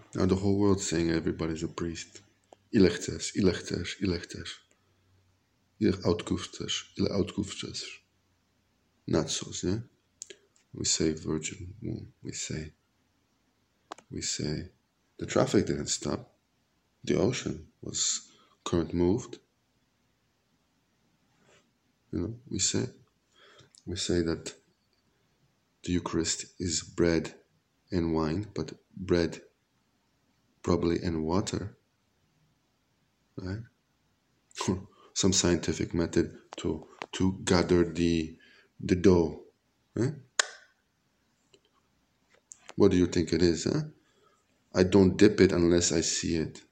Now the whole world's saying everybody's a priest. Ile chcesz, ile chcesz, ile chcesz. Ile autków chcesz, ile autków chcesz. Nachos, yeah? We say virgin womb. We say the traffic didn't stop. The ocean was current moved. We say that the Eucharist is bread and wine, but bread probably and water, right? Some scientific method to gather the dough. Eh? What do you think it is? Huh? I don't dip it unless I see it.